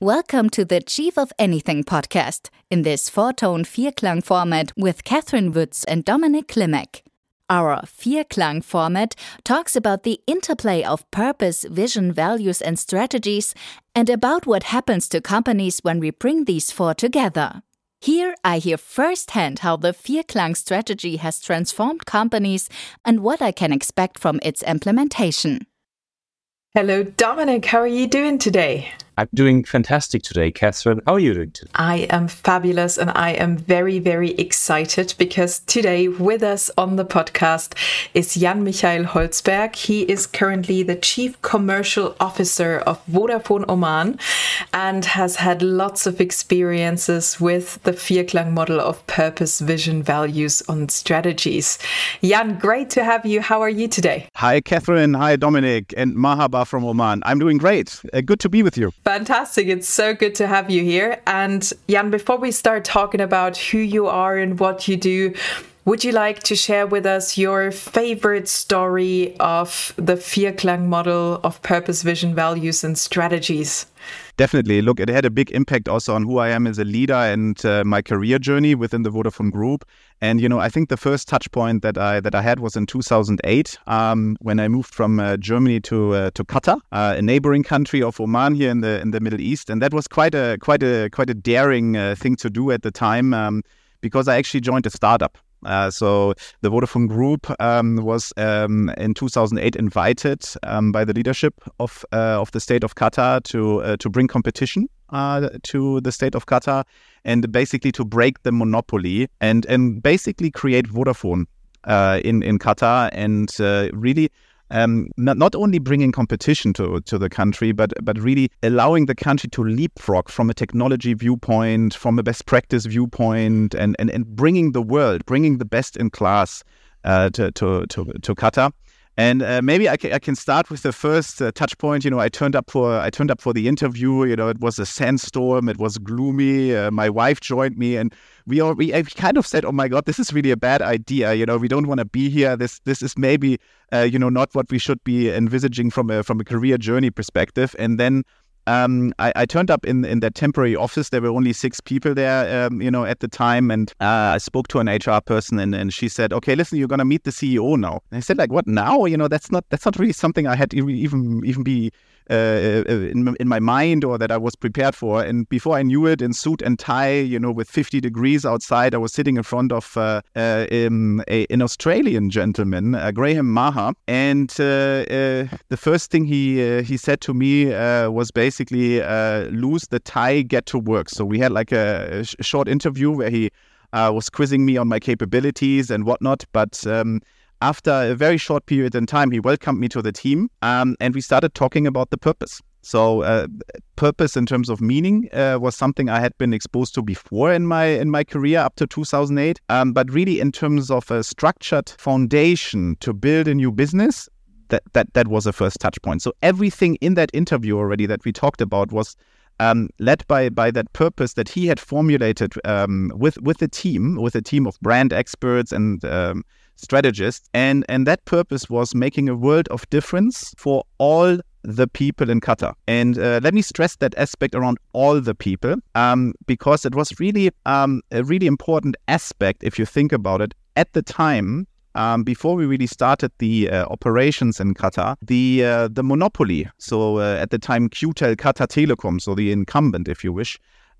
Welcome to the Chief of Anything podcast, in this four-tone Vierklang format with Catherine Wütz and Dominik Klimek. Our Vierklang format talks about the interplay of purpose, vision, values and strategies, and about what happens to companies when we bring these four together. Here I hear firsthand how the Vierklang strategy has transformed companies and what I can expect from its implementation. Hello, Dominik. How are you doing today? I'm doing fantastic today, Catherine. How are you doing today? I am fabulous, and I am very, very excited because today with us on the podcast is Jan Michael Holzberg. He is currently the Chief Commercial Officer of Vodafone Oman and has had lots of experiences with the Vierklang model of purpose, vision, values, and strategies. Jan, great to have you. How are you today? Hi, Catherine. Hi, Dominik. And Mahaba from Oman. I'm doing great. Good to be with you. Fantastic. It's so good to have you here. And Jan, before we start talking about who you are and what you do, would you like to share with us your favorite story of the Vierklang model of purpose, vision, values, and strategies? Definitely. Look, it had a big impact also on who I am as a leader and my career journey within the Vodafone Group. And, I think the first touch point that I had was in 2008 when I moved from Germany to Qatar, a neighboring country of Oman here in the Middle East. And that was quite a daring thing to do at the time because I actually joined a startup. So the Vodafone Group was in 2008 invited by the leadership of the state of Qatar to bring competition to the state of Qatar and basically to break the monopoly and basically create Vodafone in Qatar and really not only bringing competition to the country, but really allowing the country to leapfrog from a technology viewpoint, from a best practice viewpoint, and bringing the best in class to Qatar. And maybe I can start with the first touch point. I turned up for the interview. It was a sandstorm. It was gloomy. My wife joined me, and we kind of said, "Oh my God, this is really a bad idea. We don't want to be here. This is maybe not what we should be envisaging from a career journey perspective." And then I turned up in that temporary office. There were only 6 people there, at the time. And I spoke to an HR person and she said, "Okay, listen, you're going to meet the CEO now." And I said, like, "What now? That's not really something I had even be in my mind or that I was prepared for." And before I knew it, in suit and tie, with 50 degrees outside, I was sitting in front of an Australian gentleman, Graham Maher. And the first thing he said to me was basically, lose the tie, get to work. So we had like a short interview where he was quizzing me on my capabilities and whatnot. But after a very short period in time, he welcomed me to the team and we started talking about the purpose. So purpose in terms of meaning was something I had been exposed to before in my career up to 2008. But really in terms of a structured foundation to build a new business, that was the first touch point. So everything in that interview already that we talked about was led by that purpose that he had formulated with a team of brand experts and strategists. And that purpose was making a world of difference for all the people in Qatar. And let me stress that aspect around all the people because it was really a really important aspect if you think about it. At the time, before we really started the operations in Qatar, the monopoly, so at the time QTEL Qatar Telecom, so the incumbent, if you wish,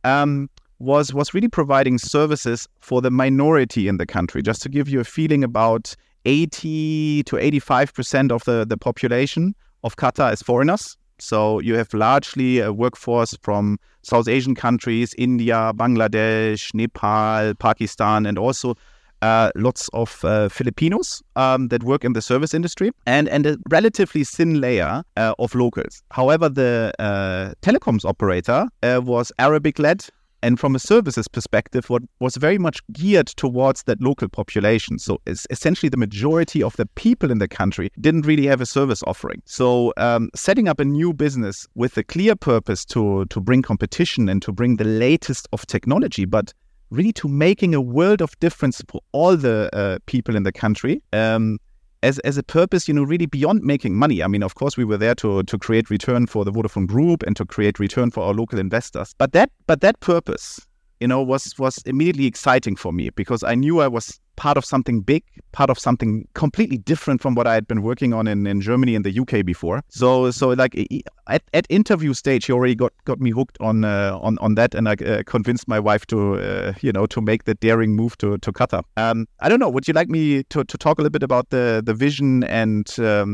was really providing services for the minority in the country. Just to give you a feeling, about 80 to 85% of the population of Qatar is foreigners. So you have largely a workforce from South Asian countries, India, Bangladesh, Nepal, Pakistan, and also lots of Filipinos that work in the service industry and a relatively thin layer of locals. However, the telecoms operator was Arabic-led and from a services perspective was very much geared towards that local population. So essentially the majority of the people in the country didn't really have a service offering. So setting up a new business with a clear purpose to bring competition and to bring the latest of technology, but really to making a world of difference for all the people in the country as a purpose, really really beyond making money. I mean, of course, we were there to create return for the Vodafone Group and to create return for our local investors. But that purpose, was immediately exciting for me because I knew I was part of something big, part of something completely different from what I had been working on in Germany and the UK before. So like at interview stage, he already got me hooked on that, and I convinced my wife to make the daring move to Qatar. I don't know. Would you like me to talk a little bit about the vision and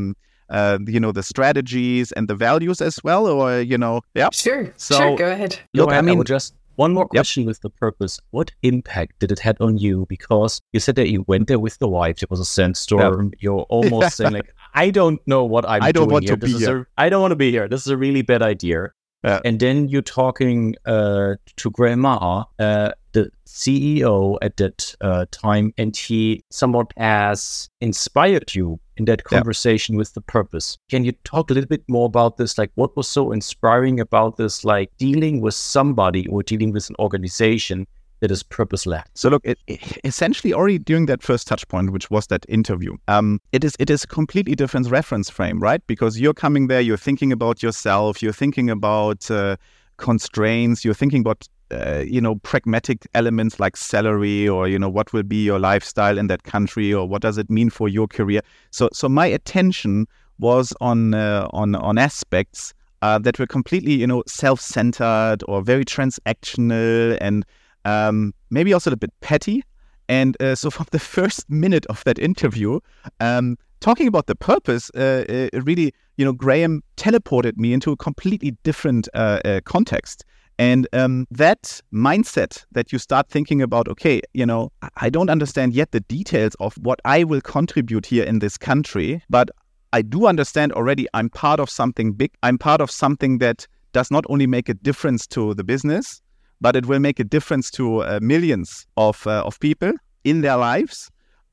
the strategies and the values as well, or yeah? Sure. Sure. Go ahead. Look, I would just. One more question with the purpose. What impact did it have on you? Because you said that you went there with the wife. It was a sandstorm. Yeah. You're almost saying like, I don't know what I'm doing here. I don't want to be here. This is a really bad idea. Yeah. And then you're talking to Graham Maher, the CEO at that time, and he somewhat has inspired you in that conversation with the purpose. Can you talk a little bit more about this? Like, what was so inspiring about this, like dealing with somebody or dealing with an organization that is purpose-led? So look, it essentially already during that first touch point, which was that interview, it is a completely different reference frame, right? Because you're coming there, you're thinking about yourself, you're thinking about constraints, you're thinking about pragmatic elements like salary or, what will be your lifestyle in that country or what does it mean for your career. So my attention was on aspects that were completely, self-centered or very transactional and maybe also a little bit petty. And so from the first minute of that interview, talking about the purpose, really, Graham teleported me into a completely different context. And that mindset that you start thinking about, okay, I don't understand yet the details of what I will contribute here in this country, but I do understand already I'm part of something big. I'm part of something that does not only make a difference to the business, but it will make a difference to millions of people in their lives.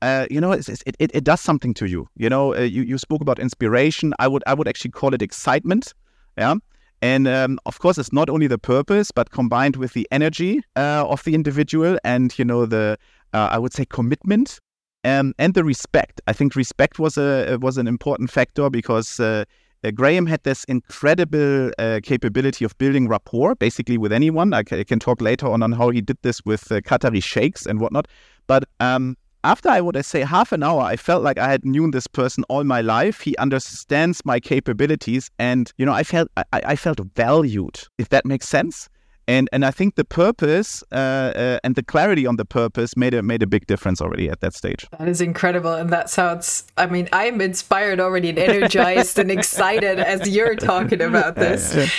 It does something to you. You spoke about inspiration. I would actually call it excitement. Yeah. And of course, it's not only the purpose, but combined with the energy of the individual and, I would say commitment and the respect. I think respect was an important factor because Graham had this incredible capability of building rapport, basically with anyone. I can talk later on how he did this with Qatari sheikhs and whatnot. But after I would say half an hour, I felt like I had known this person all my life. He understands my capabilities, and I felt valued, if that makes sense. And I think the purpose and the clarity on the purpose made a big difference already at that stage. That is incredible, and that sounds. I mean, I'm inspired already and energized and excited as you're talking about this. Yeah.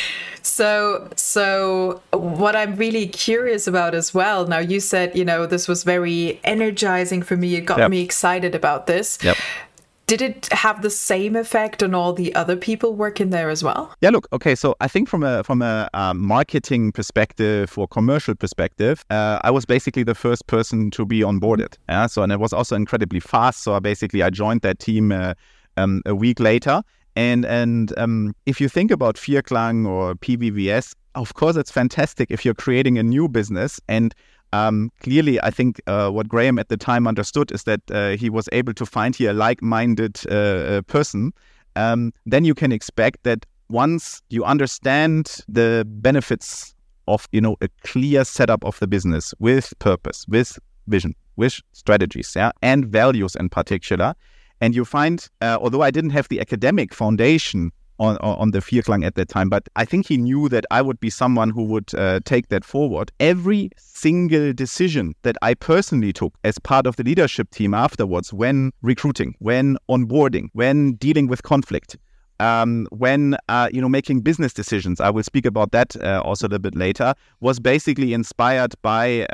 So what I'm really curious about as well, now you said, this was very energizing for me. It got me excited about this. Yep. Did it have the same effect on all the other people working there as well? Yeah, look, okay, so I think from a marketing perspective or commercial perspective, I was basically the first person to be onboarded. And it was also incredibly fast. So I joined that team a week later. And if you think about Vierklang or PVVS, of course, it's fantastic if you're creating a new business. And clearly, I think what Graham at the time understood is that he was able to find here a like-minded person. Then you can expect that once you understand the benefits of, a clear setup of the business with purpose, with vision, with strategies, and values in particular, and you find, although I didn't have the academic foundation on the Vierklang at that time, but I think he knew that I would be someone who would take that forward. Every single decision that I personally took as part of the leadership team afterwards, when recruiting, when onboarding, when dealing with conflict, when making business decisions, I will speak about that also a little bit later, was basically inspired by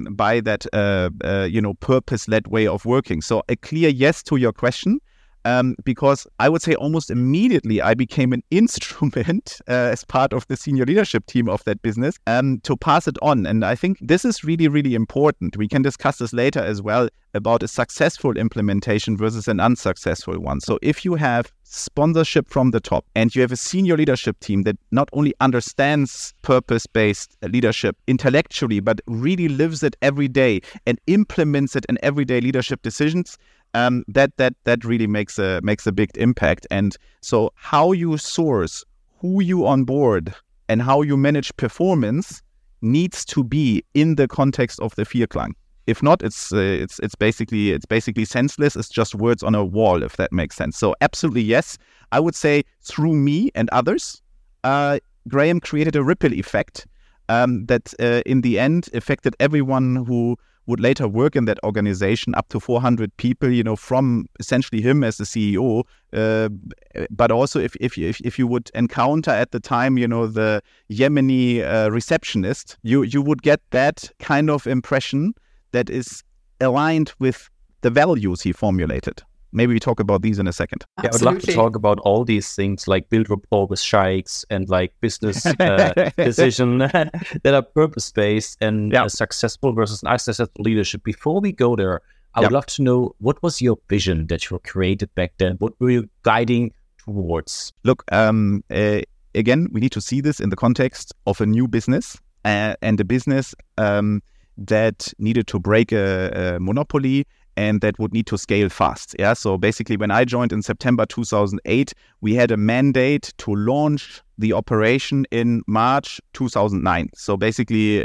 that purpose-led way of working. So a clear yes to your question. Because I would say almost immediately I became an instrument as part of the senior leadership team of that business to pass it on. And I think this is really, really important. We can discuss this later as well about a successful implementation versus an unsuccessful one. So if you have sponsorship from the top and you have a senior leadership team that not only understands purpose-based leadership intellectually, but really lives it every day and implements it in everyday leadership decisions, that really makes a big impact. And so how you source, who you onboard, and how you manage performance needs to be in the context of the Vierklang. If not, it's basically senseless. It's just words on a wall, if that makes sense. So absolutely yes, I would say through me and others, Graham created a ripple effect that in the end affected everyone who would later work in that organization, up to 400 people, from essentially him as the CEO. But also if you would encounter at the time, the Yemeni receptionist, you would get that kind of impression that is aligned with the values he formulated. Maybe we talk about these in a second. Yeah, I would love to talk about all these things, like build rapport with sheikhs and like business decision that are purpose-based and successful versus unsuccessful leadership. Before we go there, I would love to know, what was your vision that you created back then? What were you guiding towards? Look, again, we need to see this in the context of a new business and a business that needed to break a monopoly and that would need to scale fast. Yeah. So basically, when I joined in September 2008, we had a mandate to launch the operation in March 2009. So basically,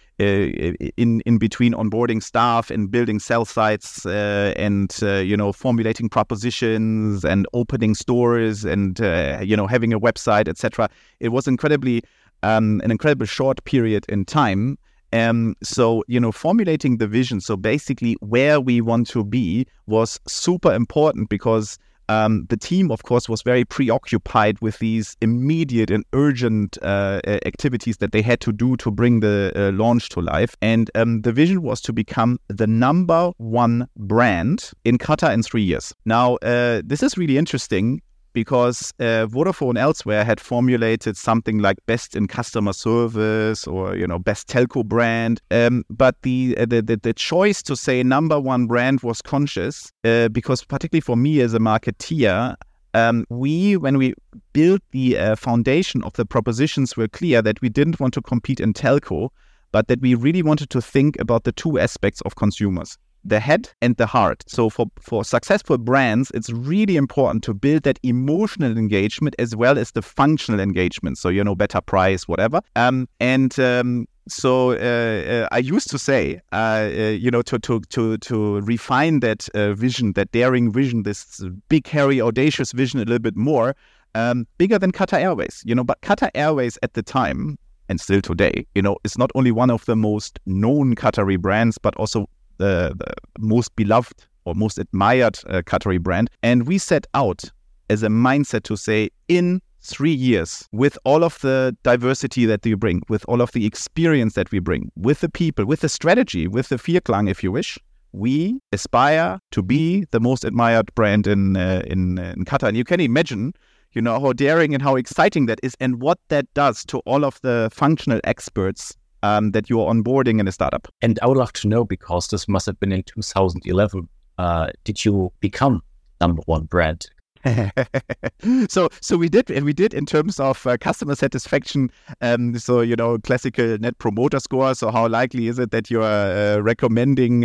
in between onboarding staff and building sell sites and formulating propositions and opening stores and having a website, etc. It was an incredibly short period in time. So formulating the vision, so basically where we want to be, was super important because the team, of course, was very preoccupied with these immediate and urgent activities that they had to do to bring the launch to life. And the vision was to become the number one brand in Qatar in 3 years. Now, this is really interesting, because Vodafone elsewhere had formulated something like best in customer service or best telco brand, but the choice to say number one brand was conscious because particularly for me as a marketeer, when we built the foundation of the propositions, were clear that we didn't want to compete in telco, but that we really wanted to think about the two aspects of consumers: the head and the heart. So for successful brands, it's really important to build that emotional engagement as well as the functional engagement. So, better price, whatever. So I used to say, to refine that vision, that daring vision, this big, hairy, audacious vision a little bit more, bigger than Qatar Airways. But Qatar Airways at the time, and still today, is not only one of the most known Qatari brands, but also the most beloved or most admired Qatari brand. And we set out as a mindset to say, in 3 years, with all of the diversity that we bring, with all of the experience that we bring, with the people, with the strategy, with the Vierklang, if you wish, we aspire to be the most admired brand in Qatar. And you can imagine, how daring and how exciting that is, and what that does to all of the functional experts that you're onboarding in a startup. And I would love to know, because this must have been in 2011, did you become number one brand? So we did in terms of customer satisfaction. So classical net promoter score. So how likely is it that you are recommending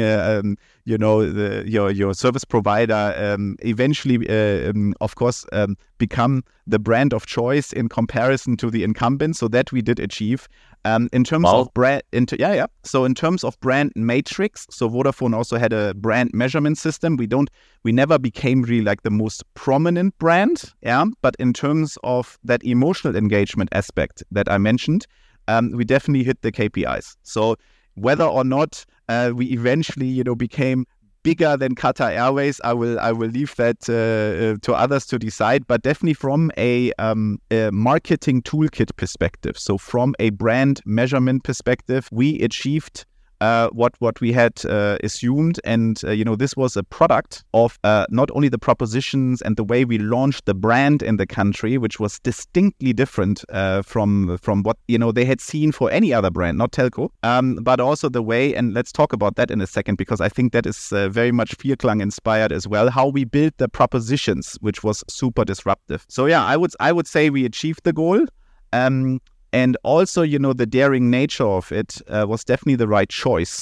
your service provider eventually, of course, become the brand of choice in comparison to the incumbent? So that we did achieve. In terms of brand, So in terms of brand matrix, so Vodafone also had a brand measurement system. We never became really like the most prominent brand, But in terms of that emotional engagement aspect that I mentioned, we definitely hit the KPIs. So whether or not we eventually, became bigger than Qatar Airways, I will leave that to others to decide. But definitely from a marketing toolkit perspective, so from a brand measurement perspective, we achieved what we had assumed. And, this was a product of not only the propositions and the way we launched the brand in the country, which was distinctly different from what, they had seen for any other brand, not telco, but also the way, and let's talk about that in a second, because I think that is very much Vierklang inspired as well, how we built the propositions, which was super disruptive. So yeah, I would say we achieved the goal. And also, the daring nature of it was definitely the right choice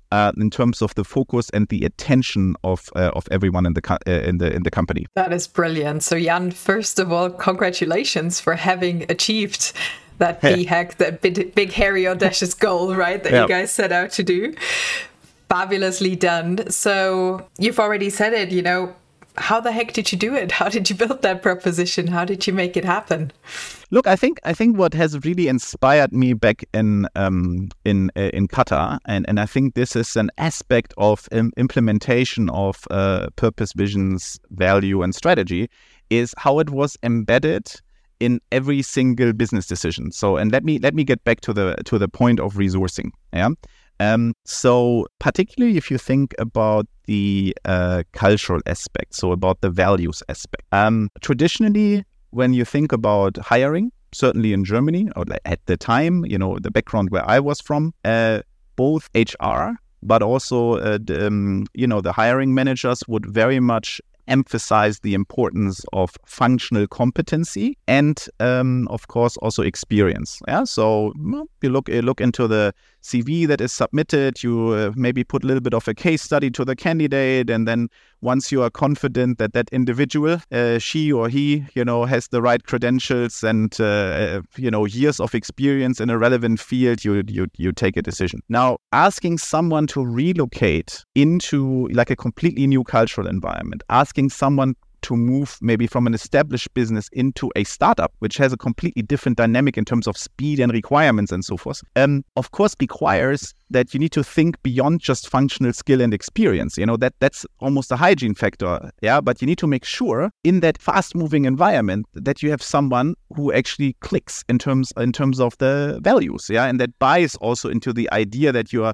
in terms of the focus and the attention of everyone in the company. That is brilliant. So Jan, first of all, congratulations for having achieved that BHAG, that big, hairy, audacious goal, right, that you guys set out to do. Fabulously done. So you've already said it, you know, how the heck did you do it? How did you build that proposition? How did you make it happen? Look, I think what has really inspired me back in Qatar, and I think this is an aspect of implementation of purpose, visions, value, and strategy, is how it was embedded in every single business decision. So, and let me get back to the point of resourcing. Yeah. So particularly if you think about the cultural aspect, so about the values aspect. Traditionally, when you think about hiring, certainly in Germany, or at the time, you know, the background where I was from, both HR, but also, the hiring managers would very much emphasize the importance of functional competency and, of course, also experience. Yeah, so you look into the CV that is submitted. You maybe put a little bit of a case study to the candidate, and then once you are confident that that individual, she or he, you know, has the right credentials and years of experience in a relevant field, you take a decision. Now, asking someone to relocate into like a completely new cultural environment, asking someone to move maybe from an established business into a startup, which has a completely different dynamic in terms of speed and requirements and so forth, of course requires that you need to think beyond just functional skill and experience. You know, that's almost a hygiene factor. Yeah, but you need to make sure in that fast-moving environment that you have someone who actually clicks in terms of the values. Yeah, and that buys also into the idea that you are,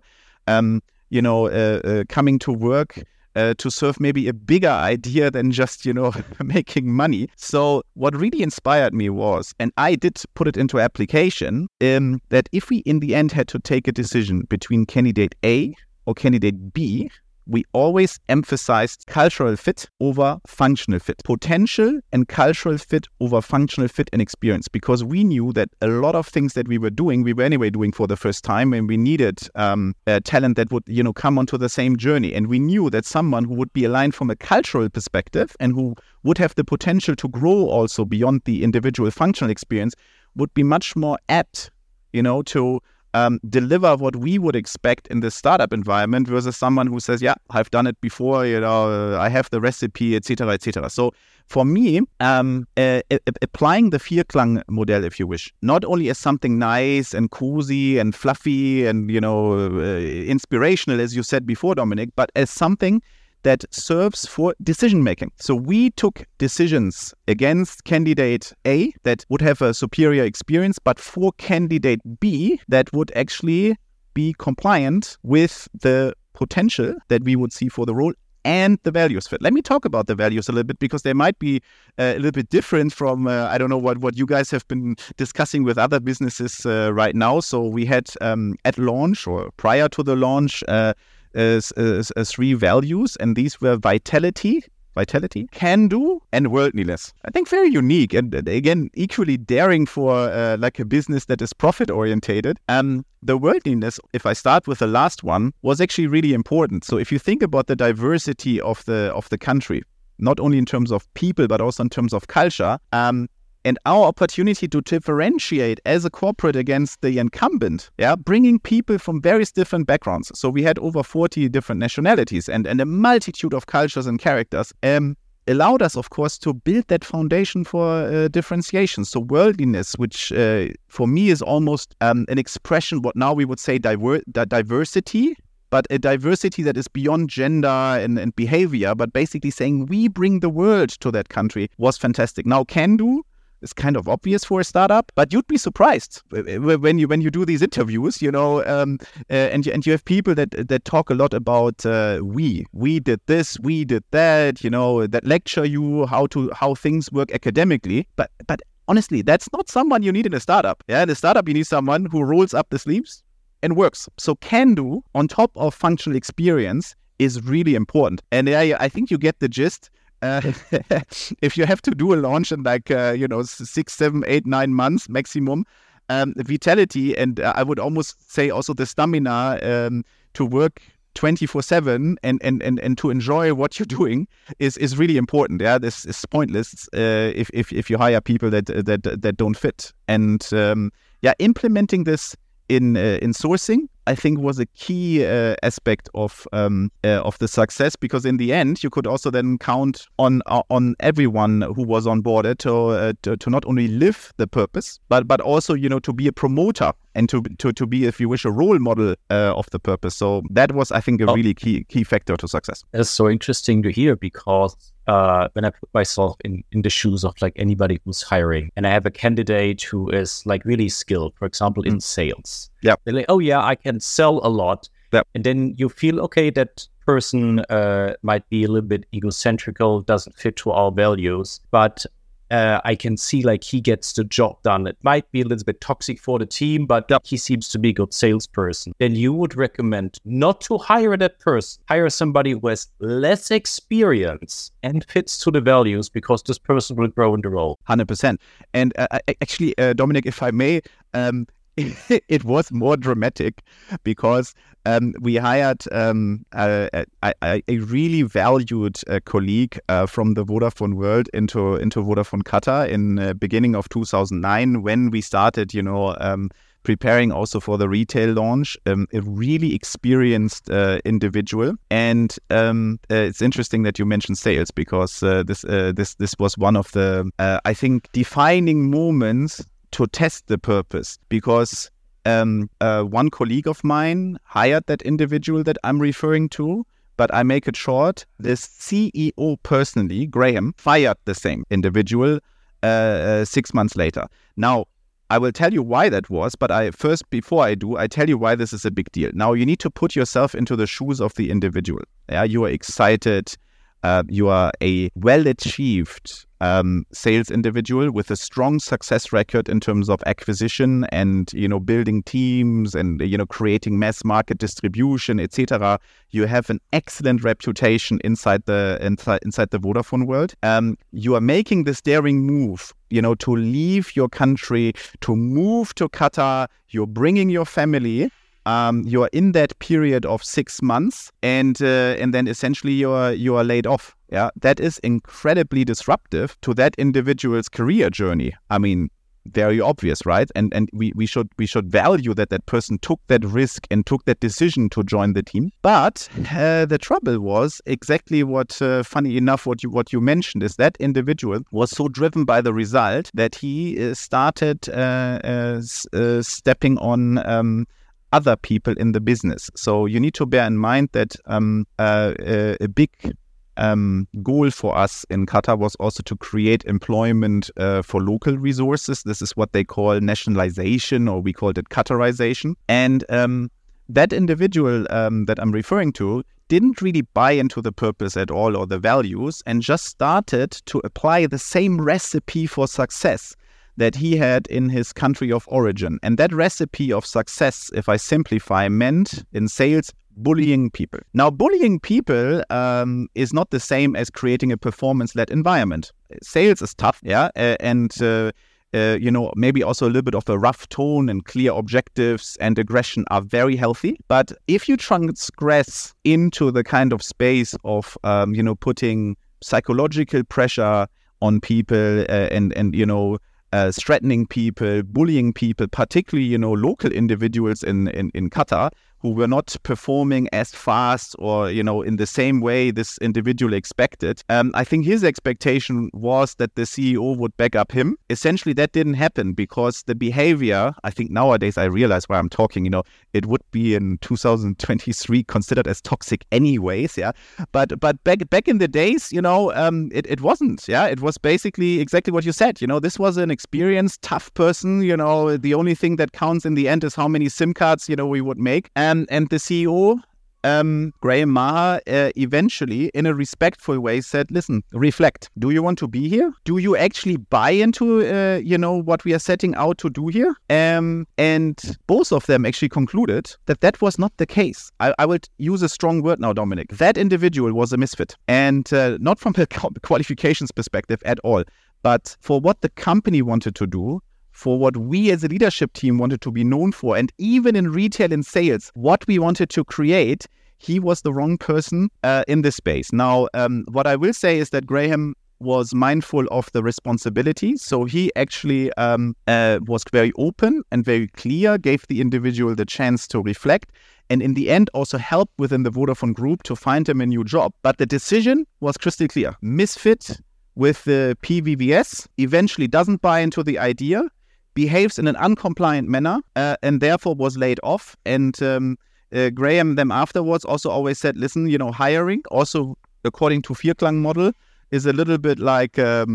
coming to work to serve maybe a bigger idea than just, making money. So what really inspired me was, and I did put it into application, that if we in the end had to take a decision between candidate A or candidate B, we always emphasized cultural fit over functional fit, potential and cultural fit over functional fit and experience, because we knew that a lot of things that we were anyway doing for the first time, and we needed talent that would, come onto the same journey. And we knew that someone who would be aligned from a cultural perspective and who would have the potential to grow also beyond the individual functional experience would be much more apt, to deliver what we would expect in the startup environment versus someone who says, yeah, I've done it before, I have the recipe, etc., etc. So for me, applying the Vierklang model, if you wish, not only as something nice and cozy and fluffy and, inspirational, as you said before, Dominik, but as something that serves for decision-making. So we took decisions against candidate A that would have a superior experience, but for candidate B that would actually be compliant with the potential that we would see for the role and the values fit. Let me talk about the values a little bit, because they might be a little bit different from, I don't know what you guys have been discussing with other businesses right now. So we had at launch or prior to the launch, three values, and these were vitality, can do, and worldliness. I think very unique, and again, equally daring for like a business that is profit orientated. The worldliness, if I start with the last one, was actually really important. So if you think about the diversity of the country, not only in terms of people, but also in terms of culture, and our opportunity to differentiate as a corporate against the incumbent, bringing people from various different backgrounds. So we had over 40 different nationalities and a multitude of cultures and characters, allowed us, of course, to build that foundation for differentiation. So worldliness, which for me is almost an expression, what now we would say diversity, but a diversity that is beyond gender and behavior, but basically saying we bring the world to that country, was fantastic. Now, can do is kind of obvious for a startup, but you'd be surprised when you do these interviews, and you have people that talk a lot about we did this, we did that, that lecture you how things work academically, but honestly, that's not someone you need in a startup. In a startup, you need someone who rolls up the sleeves and works. So can do on top of functional experience is really important, and I think you get the gist. If you have to do a launch in 6, 7, 8, 9 months maximum, vitality, and I would almost say also the stamina to work 24/7 and to enjoy what you're doing is really important. Yeah, this is pointless if you hire people that don't fit. And implementing this in sourcing, I think, was a key aspect of the success, because in the end you could also then count on everyone who was on board to not only live the purpose, but also to be a promoter and to be, if you wish, a role model of the purpose. So that was, I think, a really key factor to success. That's so interesting to hear, because when I put myself in the shoes of like anybody who's hiring, and I have a candidate who is like really skilled, for example, in sales. Yeah. They're like, oh yeah, I can sell a lot. Yeah. And then you feel, okay, that person might be a little bit egocentrical, doesn't fit to our values, but I can see like he gets the job done. It might be a little bit toxic for the team, but he seems to be a good salesperson. Then you would recommend not to hire that person. Hire somebody who has less experience and fits to the values, because this person will grow in the role. 100%. And actually, Dominic, if I may, it was more dramatic, because we hired a really valued colleague from the Vodafone world into Vodafone Qatar in beginning of 2009, when we started, preparing also for the retail launch. A really experienced individual, and it's interesting that you mentioned sales, because this was one of the I think defining moments to test the purpose, because one colleague of mine hired that individual that I'm referring to, but I make it short. The CEO personally, Graham, fired the same individual 6 months later. Now, I will tell you why that was, but before I tell you why this is a big deal. Now, you need to put yourself into the shoes of the individual. Yeah, you are excited. You are a well-achieved sales individual with a strong success record in terms of acquisition and building teams and creating mass market distribution, etc. You have an excellent reputation inside the Vodafone world. You are making this daring move, to leave your country, to move to Qatar. You're bringing your family. You are in that period of 6 months, and then essentially you are laid off. Yeah, that is incredibly disruptive to that individual's career journey. I mean, very obvious, right? And we should value that person took that risk and took that decision to join the team. But the trouble was exactly what, funny enough, what you mentioned, is that individual was so driven by the result that he started stepping on other people in the business. So you need to bear in mind that a big goal for us in Qatar was also to create employment for local resources. This is what they call nationalization, or we called it Qatarization. And that individual that I'm referring to didn't really buy into the purpose at all, or the values, and just started to apply the same recipe for success that he had in his country of origin. And that recipe of success, if I simplify, meant in sales, bullying people. Now, bullying people is not the same as creating a performance-led environment. Sales is tough, yeah, and maybe also a little bit of a rough tone and clear objectives and aggression are very healthy. But if you transgress into the kind of space of, putting psychological pressure on people and threatening people, bullying people, particularly, local individuals in Qatar who were not performing as fast or, in the same way this individual expected. I think his expectation was that the CEO would back up him. Essentially, that didn't happen, because the behavior, I think nowadays I realize why I'm talking, it would be in 2023 considered as toxic anyways, yeah. But back in the days, it wasn't, yeah. It was basically exactly what you said. This was an experienced, tough person. The only thing that counts in the end is how many SIM cards, we would make. And the CEO, Graham Maher, eventually, in a respectful way, said, listen, reflect. Do you want to be here? Do you actually buy into, what we are setting out to do here? And both of them actually concluded that was not the case. I would use a strong word now, Dominic. That individual was a misfit. And not from a qualifications perspective at all, but for what the company wanted to do, for what we as a leadership team wanted to be known for, and even in retail and sales, what we wanted to create, he was the wrong person in this space. Now, what I will say is that Graham was mindful of the responsibility. So he actually was very open and very clear, gave the individual the chance to reflect, and in the end also helped within the Vodafone Group to find him a new job. But the decision was crystal clear. Misfit with the PVVS, eventually doesn't buy into the idea, behaves in an uncompliant manner, and therefore was laid off. And Graham then afterwards also always said, listen, hiring also according to Vierklang model is a little bit like a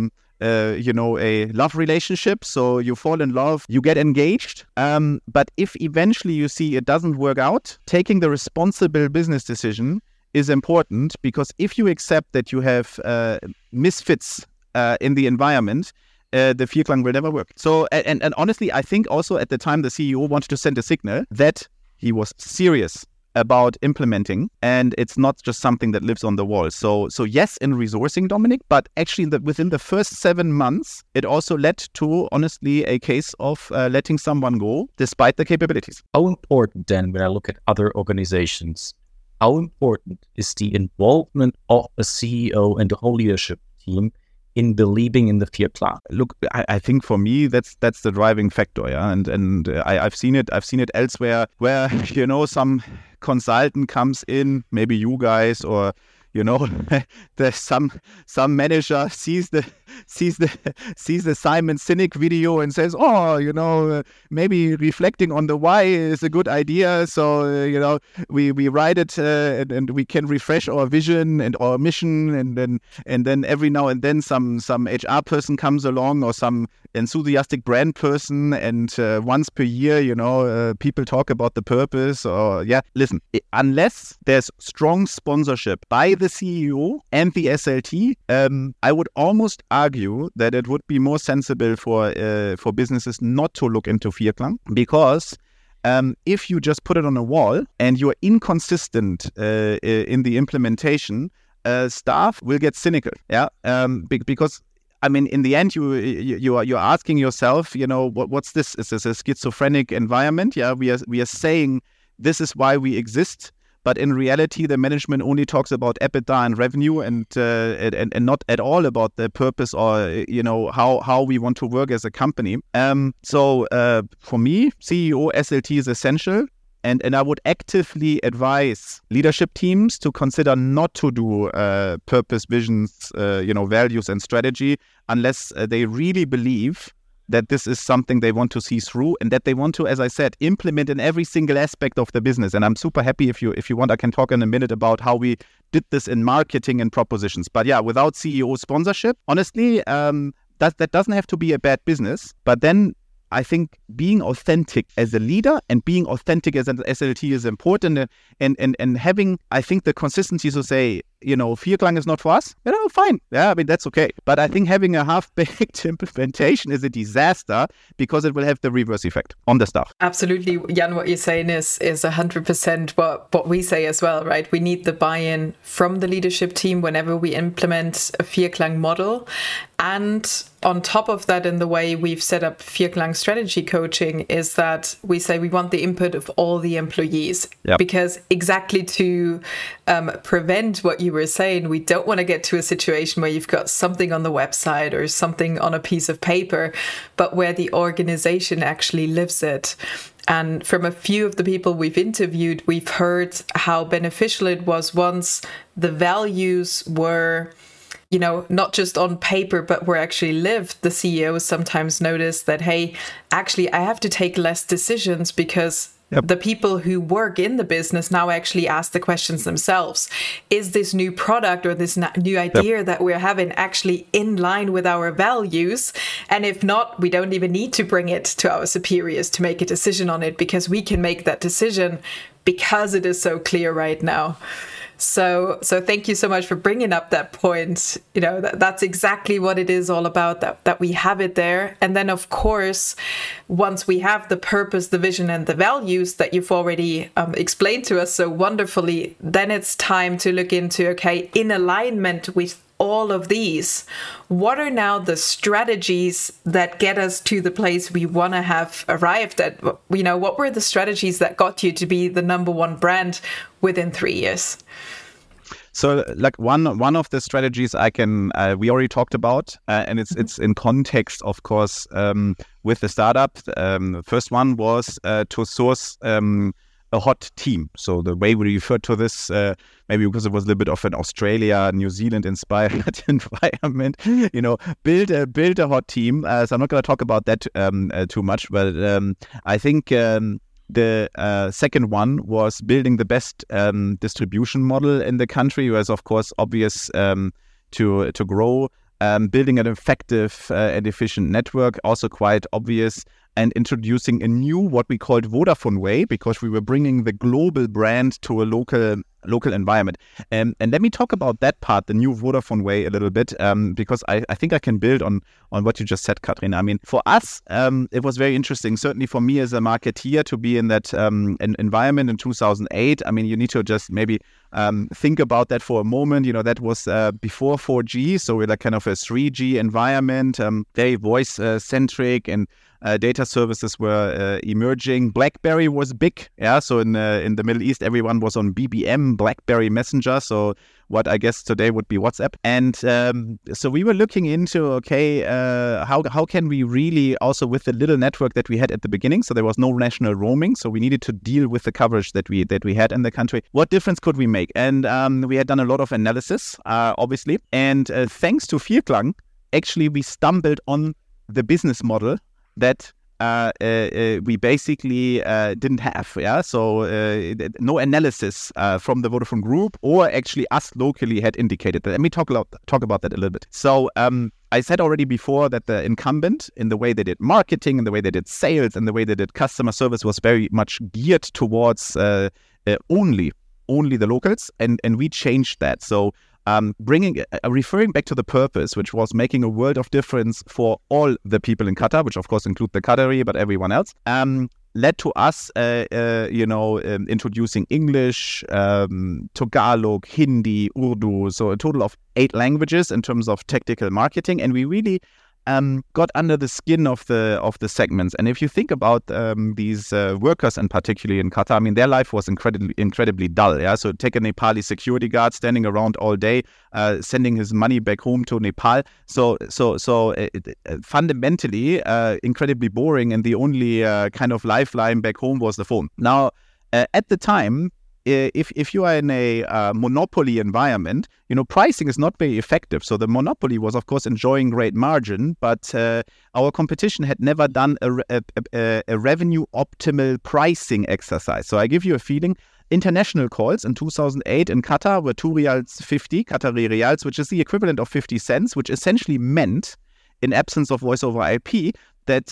love relationship. So you fall in love, you get engaged. But if eventually you see it doesn't work out, taking the responsible business decision is important, because if you accept that you have misfits in the environment, the Vierklang will never work. So, and honestly, I think also at the time the CEO wanted to send a signal that he was serious about implementing, and it's not just something that lives on the wall. So yes, in resourcing, Dominic, but actually within the first 7 months, it also led to, honestly, a case of letting someone go despite the capabilities. How important then, when I look at other organizations, how important is the involvement of a CEO and the whole leadership team in believing in the Vierklang? Look, I think for me that's the driving factor, yeah. And I've seen it elsewhere where some consultant comes in, maybe you guys, or there's some manager sees the Simon Sinek video and says, maybe reflecting on the why is a good idea. So we write it and we can refresh our vision and our mission, and then every now and then some HR person comes along, or some enthusiastic brand person, and once per year people talk about the purpose. Or listen, unless there's strong sponsorship by the CEO and the SLT, I would almost argue that it would be more sensible for businesses not to look into Vierklang, because if you just put it on a wall and you're inconsistent in the implementation, staff will get cynical. Because in the end, you're asking yourself, what's this? Is this a schizophrenic environment? Yeah, we are saying this is why we exist. But in reality, the management only talks about EBITDA and revenue, and not at all about the purpose, or how we want to work as a company. So for me, CEO SLT is essential, and I would actively advise leadership teams to consider not to do purpose, visions, values and strategy, unless they really believe that this is something they want to see through, and that they want to, as I said, implement in every single aspect of the business. And I'm super happy, if you want, I can talk in a minute about how we did this in marketing and propositions. But without CEO sponsorship, honestly, that doesn't have to be a bad business. But then I think being authentic as a leader and being authentic as an SLT is important, and having, I think, the consistency to say, Vierklang is not for us, fine. Yeah, that's okay. But I think having a half-baked implementation is a disaster, because it will have the reverse effect on the staff. Absolutely. Jan, what you're saying is 100% what we say as well, right? We need the buy-in from the leadership team whenever we implement a Vierklang model. And on top of that, in the way we've set up Vierklang strategy coaching, is that we say we want the input of all the employees. Yep. Because exactly to prevent what you were saying, we don't want to get to a situation where you've got something on the website or something on a piece of paper, but where the organization actually lives it. And from a few of the people we've interviewed, we've heard how beneficial it was once the values were, not just on paper, but were actually lived. The CEOs sometimes notice that, hey, actually, I have to take less decisions because the people who work in the business now actually ask the questions themselves. Is this new product or this new idea that we're having actually in line with our values? And if not, we don't even need to bring it to our superiors to make a decision on it, because we can make that decision because it is so clear right now. So thank you so much for bringing up that point. That's exactly what it is all about, that we have it there. And then, of course, once we have the purpose, the vision and the values that you've already explained to us so wonderfully, then it's time to look into, okay, in alignment with all of these, what are now the strategies that get us to the place we want to have arrived at? You know, what were the strategies that got you to be the number one brand within 3 years? So, like one of the strategies we already talked about, and it's in context, of course, with the startup. The first one was to source a hot team. So the way we refer to this, maybe because it was a little bit of an Australia, New Zealand inspired environment, build a hot team. So I'm not going to talk about that too much, but I think the second one was building the best distribution model in the country. It was, of course, obvious to grow. Building an effective and efficient network, also quite obvious. And introducing a new, what we called Vodafone Way, because we were bringing the global brand to a local environment. And let me talk about that part, the new Vodafone Way, a little bit, because I think I can build on what you just said, Katrin. I mean, for us, it was very interesting, certainly for me as a marketeer, to be in that environment in 2008. I mean, you need to just maybe think about that for a moment. That was before 4G, so we're like kind of a 3G environment, very voice-centric, and data services were emerging. BlackBerry was big, so in the Middle East, everyone was on BBM, BlackBerry Messenger, so what I guess today would be WhatsApp. And so we were looking into, how can we really, also with the little network that we had at the beginning, so there was no national roaming, so we needed to deal with the coverage that we had in the country. What difference could we make? And we had done a lot of analysis, obviously, and thanks to Vierklang, actually we stumbled on the business model that we basically didn't have. So no analysis from the Vodafone Group or actually us locally had indicated that. Let me talk about that a little bit. So I said already before that the incumbent, in the way they did marketing, in the way they did sales, and the way they did customer service, was very much geared towards only the locals, and we changed that. So referring back to the purpose, which was making a world of difference for all the people in Qatar, which of course include the Qatari, but everyone else, led to us, introducing English, Tagalog, Hindi, Urdu, so a total of 8 languages in terms of tactical marketing, and we really got under the skin of the segments. And if you think about these workers, and particularly in Qatar, I mean, their life was incredibly dull. So take a Nepali security guard standing around all day, sending his money back home to Nepal. So fundamentally incredibly boring, and the only kind of lifeline back home was the phone. Now, at the time, if you are in a monopoly environment, pricing is not very effective. So the monopoly was, of course, enjoying great margin, but our competition had never done a revenue optimal pricing exercise. So I give you a feeling. International calls in 2008 in Qatar were 2.50 riyals, Qatari riyals, which is the equivalent of 50 cents, which essentially meant, in absence of voice over IP, that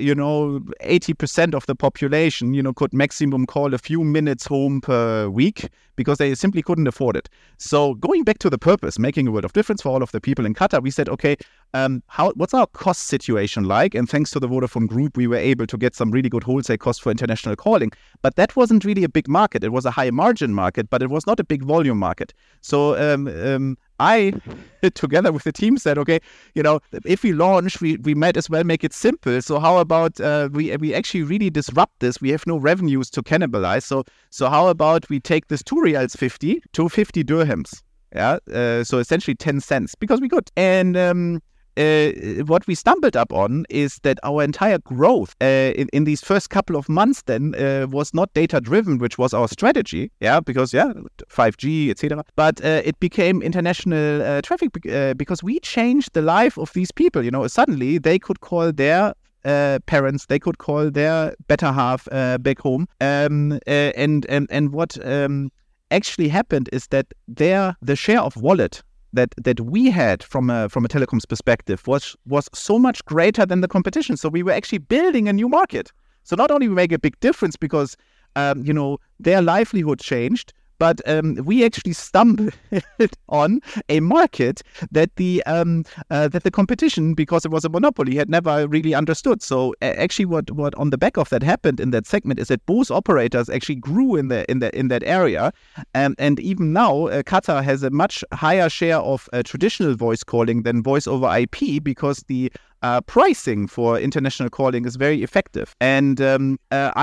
80% of the population could maximum call a few minutes home per week, because they simply couldn't afford it. So going back to the purpose, making a world of difference for all of the people in Qatar, we said, okay, what's our cost situation like? And thanks to the Vodafone Group, we were able to get some really good wholesale costs for international calling. But that wasn't really a big market. It was a high margin market, but it was not a big volume market. So I, together with the team, said, okay, if we launch, we might as well make it simple. So how about we actually really disrupt this? We have no revenues to cannibalize. So how about we take this 2.50 riyals to 50 dirhams? So essentially 10 cents, because we could. And what we stumbled up on is that our entire growth in these first couple of months then was not data-driven, which was our strategy, because 5G, etc. But it became international traffic because we changed the life of these people. Suddenly they could call their parents, they could call their better half back home, and what actually happened is that the share of wallet that we had from a telecoms perspective was so much greater than the competition. So we were actually building a new market. So not only we make a big difference because their livelihood changed, but we actually stumbled on a market that the competition, because it was a monopoly, had never really understood. So actually, what on the back of that happened in that segment is that both operators actually grew in that area, and even now Qatar has a much higher share of traditional voice calling than voice over IP, because the pricing for international calling is very effective. And I'm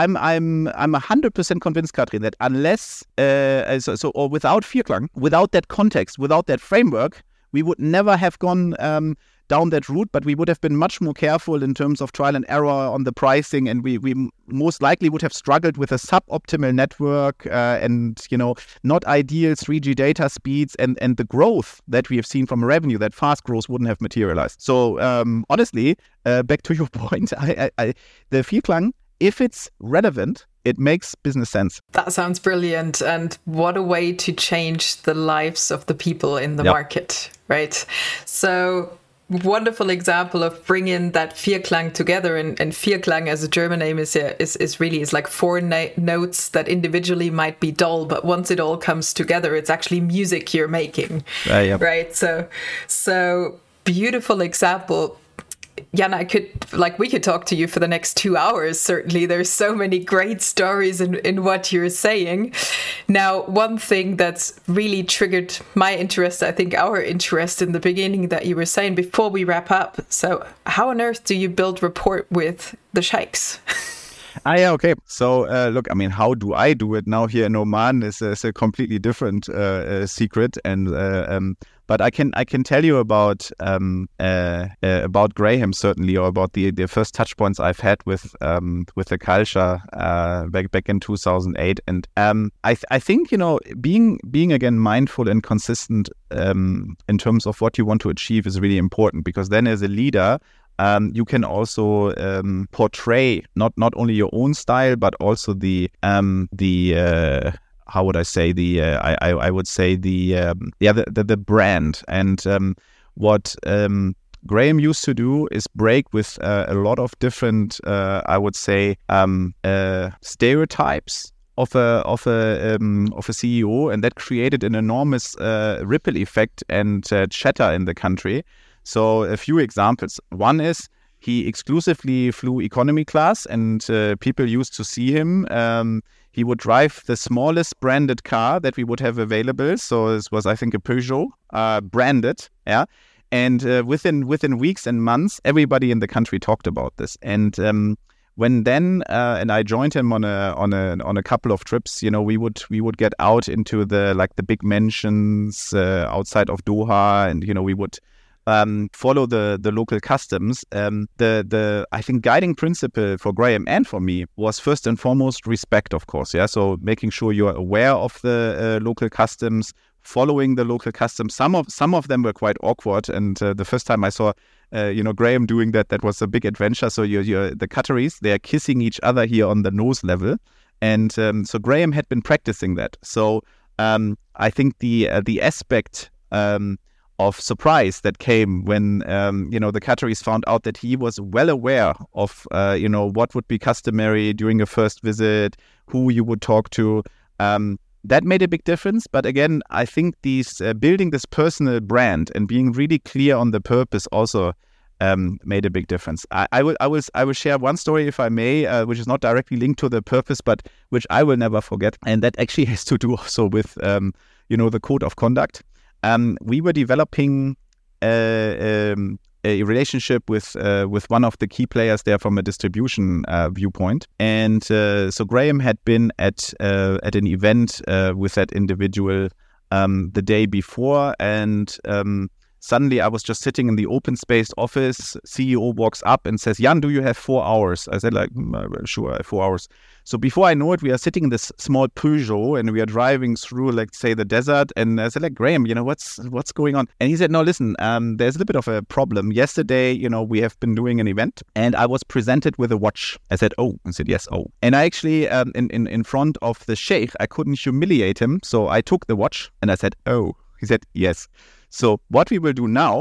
100% convinced, Katrin, that unless or without Vierklang, without that context, without that framework, we would never have gone down that route, but we would have been much more careful in terms of trial and error on the pricing, and we most likely would have struggled with a suboptimal network and not ideal 3G data speeds, and the growth that we have seen from revenue, that fast growth, wouldn't have materialized. So honestly, back to your point, the Vierklang, if it's relevant, it makes business sense. That sounds brilliant. And what a way to change the lives of the people in the market, right? So wonderful example of bringing that Vierklang together, and Vierklang as a German name is really like four notes that individually might be dull, but once it all comes together, it's actually music you're making, right? So beautiful example. Jan, we could talk to you for the next 2 hours. Certainly, there's so many great stories in what you're saying. Now, one thing that's really triggered my interest, I think our interest in the beginning that you were saying before we wrap up. So how on earth do you build rapport with the sheikhs? Okay. So, look, I mean, how do I do it now here in Oman is a completely different secret, and but I can tell you about Graham, certainly, or about the first touch points I've had with the culture back in 2008, and I think being again mindful and consistent in terms of what you want to achieve is really important, because then as a leader, you can also portray not only your own style, but also the how would I say, I would say the brand. And what Graham used to do is break with a lot of different I would say stereotypes of a CEO, and that created an enormous ripple effect and chatter in the country. So a few examples. One is he exclusively flew economy class, and people used to see him. He would drive the smallest branded car that we would have available. So this was, I think, a Peugeot, branded. Yeah. And within weeks and months, everybody in the country talked about this. And when then and I joined him on a couple of trips, we would get out into the big mansions outside of Doha, and we would follow the local customs. The I think guiding principle for Graham and for me was first and foremost respect, of course. Yeah, so making sure you are aware of the local customs, following the local customs. Some of them were quite awkward, and the first time I saw Graham doing that was a big adventure. So the Qataris, they are kissing each other here on the nose level, and so Graham had been practicing that. So I think the aspect of surprise that came when the Qataris found out that he was well aware of what would be customary during a first visit, who you would talk to. That made a big difference. But again, I think these building this personal brand and being really clear on the purpose also made a big difference. I will share one story, if I may, which is not directly linked to the purpose, but which I will never forget, and that actually has to do also with the code of conduct. We were developing a relationship with one of the key players there from a distribution viewpoint, and so Graham had been at an event with that individual the day before, and suddenly I was just sitting in the open spaced office. CEO walks up and says, "Jan, do you have 4 hours?" I said, sure, I have 4 hours. So before I know it, we are sitting in this small Peugeot and we are driving through, say, the desert. And I said, Graham, what's going on? And he said, no, listen, there's a little bit of a problem. Yesterday, we have been doing an event and I was presented with a watch. I said, oh. I said, yes, oh. And I actually, in front of the sheikh, I couldn't humiliate him. So I took the watch and I said, oh. He said, yes. So what we will do now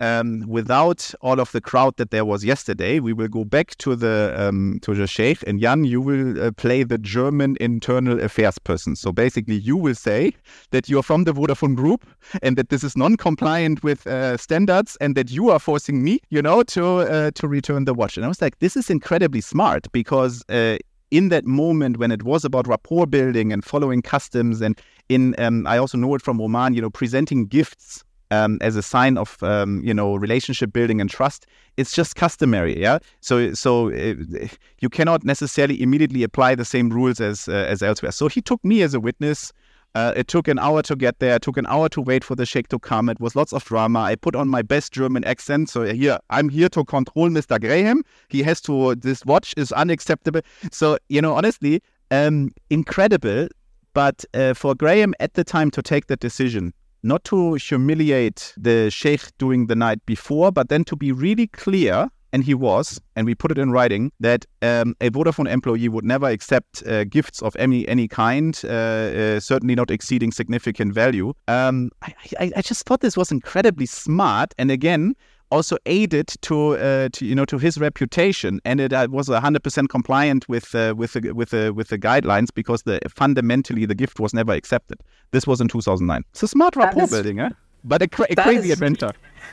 without all of the crowd that there was yesterday, we will go back to the Sheikh, and Jan, you will play the German internal affairs person. So basically, you will say that you are from the Vodafone Group and that this is non-compliant with standards, and that you are forcing me, to return the watch. And I was like, this is incredibly smart, because in that moment when it was about rapport building and following customs, and I also know it from Roman, presenting gifts as a sign of relationship building and trust, it's just customary, yeah. So you cannot necessarily immediately apply the same rules as elsewhere. So he took me as a witness. It took an hour to get there. It took an hour to wait for the Sheikh to come. It was lots of drama. I put on my best German accent. So I'm here to control Mr. Graham. This watch is unacceptable. So, honestly, incredible. But for Graham at the time to take that decision, not to humiliate the Sheikh during the night before, but then to be really clear, and he was, and we put it in writing, that a Vodafone employee would never accept gifts of any kind, certainly not exceeding significant value. I just thought this was incredibly smart, and again, also aided to his reputation, and it was 100% compliant with the guidelines, because fundamentally the gift was never accepted. This was in 2009. It's a smart rapport building, eh? But a crazy adventure.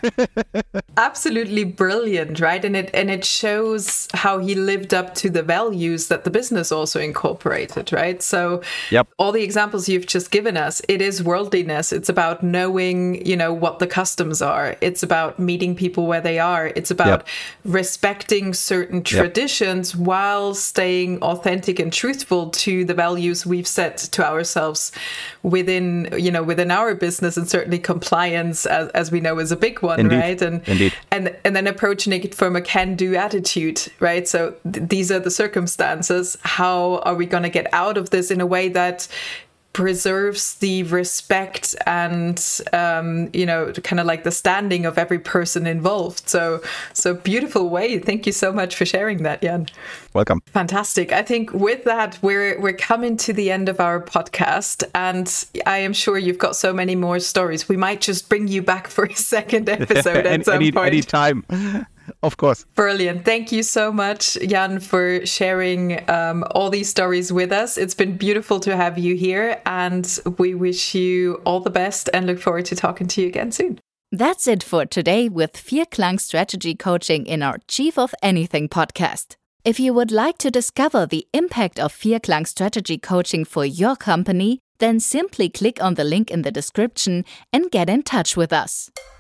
Absolutely brilliant, right? And it shows how he lived up to the values that the business also incorporated, right? So all the examples you've just given us, it is worldliness. It's about knowing, what the customs are. It's about meeting people where they are. It's about respecting certain traditions while staying authentic and truthful to the values we've set to ourselves within our business, and certainly compliance, as we know, is a big one. Indeed. Right? Indeed. And then approaching it from a can-do attitude, right? So these are the circumstances. How are we going to get out of this in a way that preserves the respect and, kind of like the standing of every person involved? So beautiful way. Thank you so much for sharing that, Jan. Welcome. Fantastic. I think with that, we're coming to the end of our podcast, and I am sure you've got so many more stories. We might just bring you back for a second episode at some point. Any time. Of course. Brilliant. Thank you so much, Jan, for sharing all these stories with us. It's been beautiful to have you here, and we wish you all the best and look forward to talking to you again soon. That's it for today with Vierklang Strategy Coaching in our Chief of Anything podcast. If you would like to discover the impact of Vierklang Strategy Coaching for your company, then simply click on the link in the description and get in touch with us.